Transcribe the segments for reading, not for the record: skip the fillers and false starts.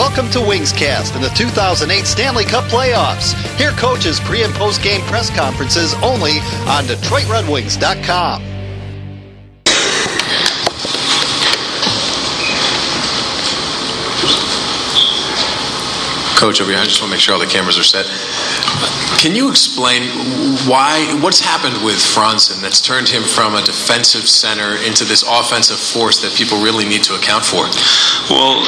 Welcome to Wingscast and the 2008 Stanley Cup Playoffs. Hear coaches' pre- and post-game press conferences only on DetroitRedWings.com. Coach over here, I just want to make sure all the cameras are set. Can you explain what's happened with Franzen that's turned him from a defensive center into this offensive force that people really need to account for? Well,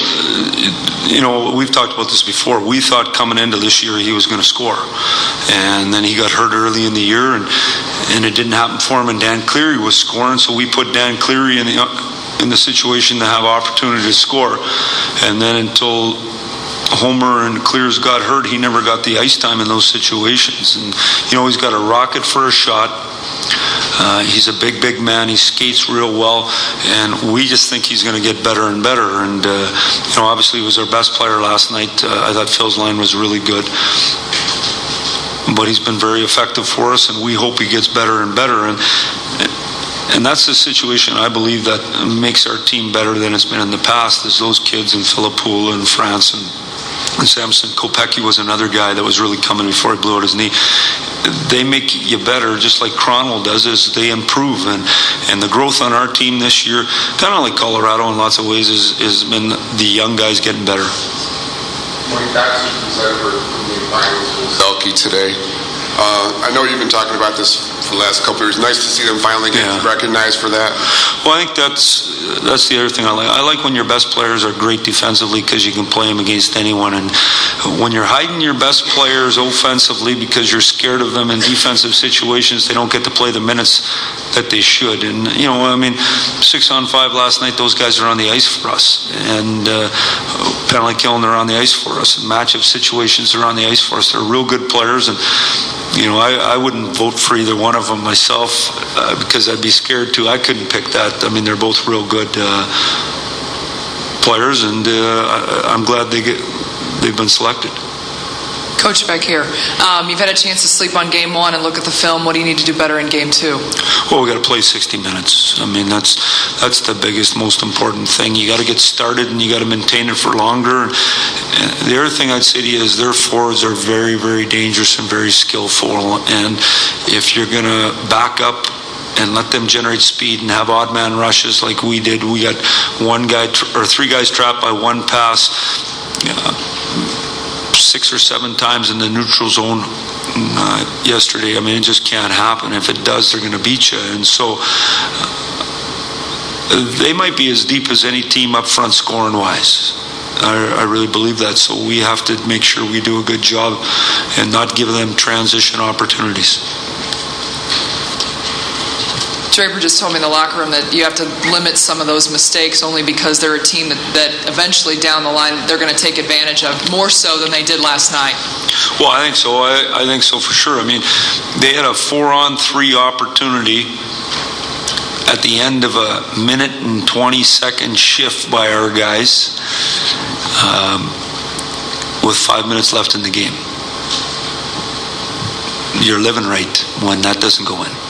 we've talked about this before. We thought coming into this year he was going to score. And then he got hurt early in the year, and it didn't happen for him. And Dan Cleary was scoring, so we put Dan Cleary in the situation to have opportunity to score. And then until Homer and Clears got hurt, he never got the ice time in those situations. And he's got a rocket for a shot. He's a big man. He skates real well, and we just think he's going to get better and better. And obviously he was our best player last night. I thought Phil's line was really good, but he's been very effective for us, and we hope he gets better and better. And that's the situation I believe that makes our team better than it's been in the past, is those kids in Filipula and France and Samson. Kopecky was another guy that was really coming before he blew out his knee. They make you better, just like Cronwell does, as they improve. And the growth on our team this year, kind of like Colorado in lots of ways, is been the young guys getting better. Mike Baxter from Zetterberg from the finals with Selke today. I know you've been talking about this for the last couple of years. Nice to see them finally get recognized for that. Well, I think that's the other thing I like. I like when your best players are great defensively because you can play them against anyone. And when you're hiding your best players offensively because you're scared of them in defensive situations, they don't get to play the minutes that they should. And, 6-on-5 last night, those guys are on the ice for us. And penalty killing, they're on the ice for us. And matchup situations, they're on the ice for us. They're real good players. And I wouldn't vote for either one of them myself because I'd be scared too. I couldn't pick that. I mean, they're both real good players, and I'm glad they've been selected. Coach, back here. You've had a chance to sleep on Game 1 and look at the film. What do you need to do better in Game 2? Well, we got to play 60 minutes. I mean, that's the biggest, most important thing. You got to get started, and you got to maintain it for longer. And the other thing I'd say to you is their forwards are very, very dangerous and very skillful. And if you're going to back up and let them generate speed and have odd man rushes like we did, we got one guy or three guys trapped by one pass. 6 or 7 times in the neutral zone yesterday. I mean, it just can't happen. If it does, they're going to beat you. And so they might be as deep as any team up front scoring-wise. I really believe that. So we have to make sure we do a good job and not give them transition opportunities. Draper just told me in the locker room that you have to limit some of those mistakes only because they're a team that eventually down the line they're going to take advantage of, more so than they did last night. Well, I think so. I think so for sure. I mean, they had a 4-on-3 opportunity at the end of a 1-and-20-second shift by our guys with 5 minutes left in the game. You're living right when that doesn't go in.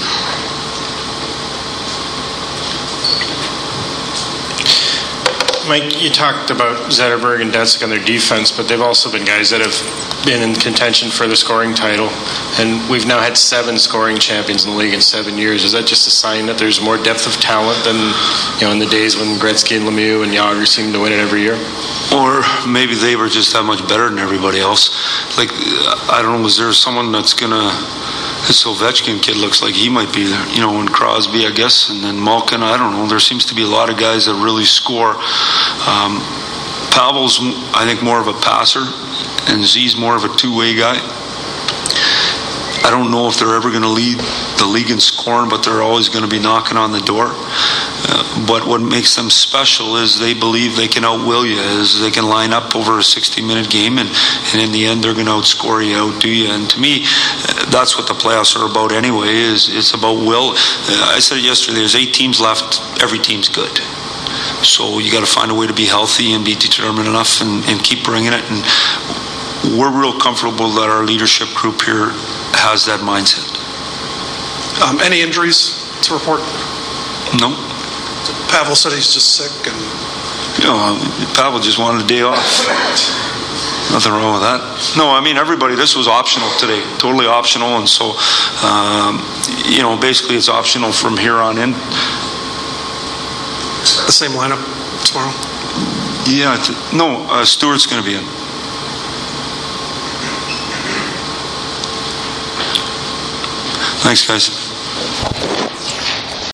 Mike, you talked about Zetterberg and Detzek on their defense, but they've also been guys that have been in contention for the scoring title. And we've now had 7 scoring champions in the league in 7 years. Is that just a sign that there's more depth of talent than in the days when Gretzky and Lemieux and Jagr seemed to win it every year? Or maybe they were just that much better than everybody else. Like, I don't know, was there someone that's going to... This Ovechkin kid looks like he might be there, and Crosby, I guess, and then Malkin, I don't know. There seems to be a lot of guys that really score. Pavel's, I think, more of a passer, and Z's more of a two-way guy. I don't know if they're ever going to lead the league in scoring, but they're always going to be knocking on the door. But what makes them special is they believe they can outwill you, is they can line up over a 60-minute game, and in the end they're going to outscore you, outdo you. And to me, that's what the playoffs are about anyway, is it's about will. I said it yesterday, there's 8 teams left, every team's good. So you got to find a way to be healthy and be determined enough and keep bringing it. And we're real comfortable that our leadership group here has that mindset. Any injuries to report? No. Pavel said he's just sick, and Pavel just wanted a day off. Nothing wrong with that. No, I mean, everybody, this was optional today, totally optional, and so, basically it's optional from here on in. The same lineup tomorrow? Yeah, Stewart's going to be in. Thanks, guys.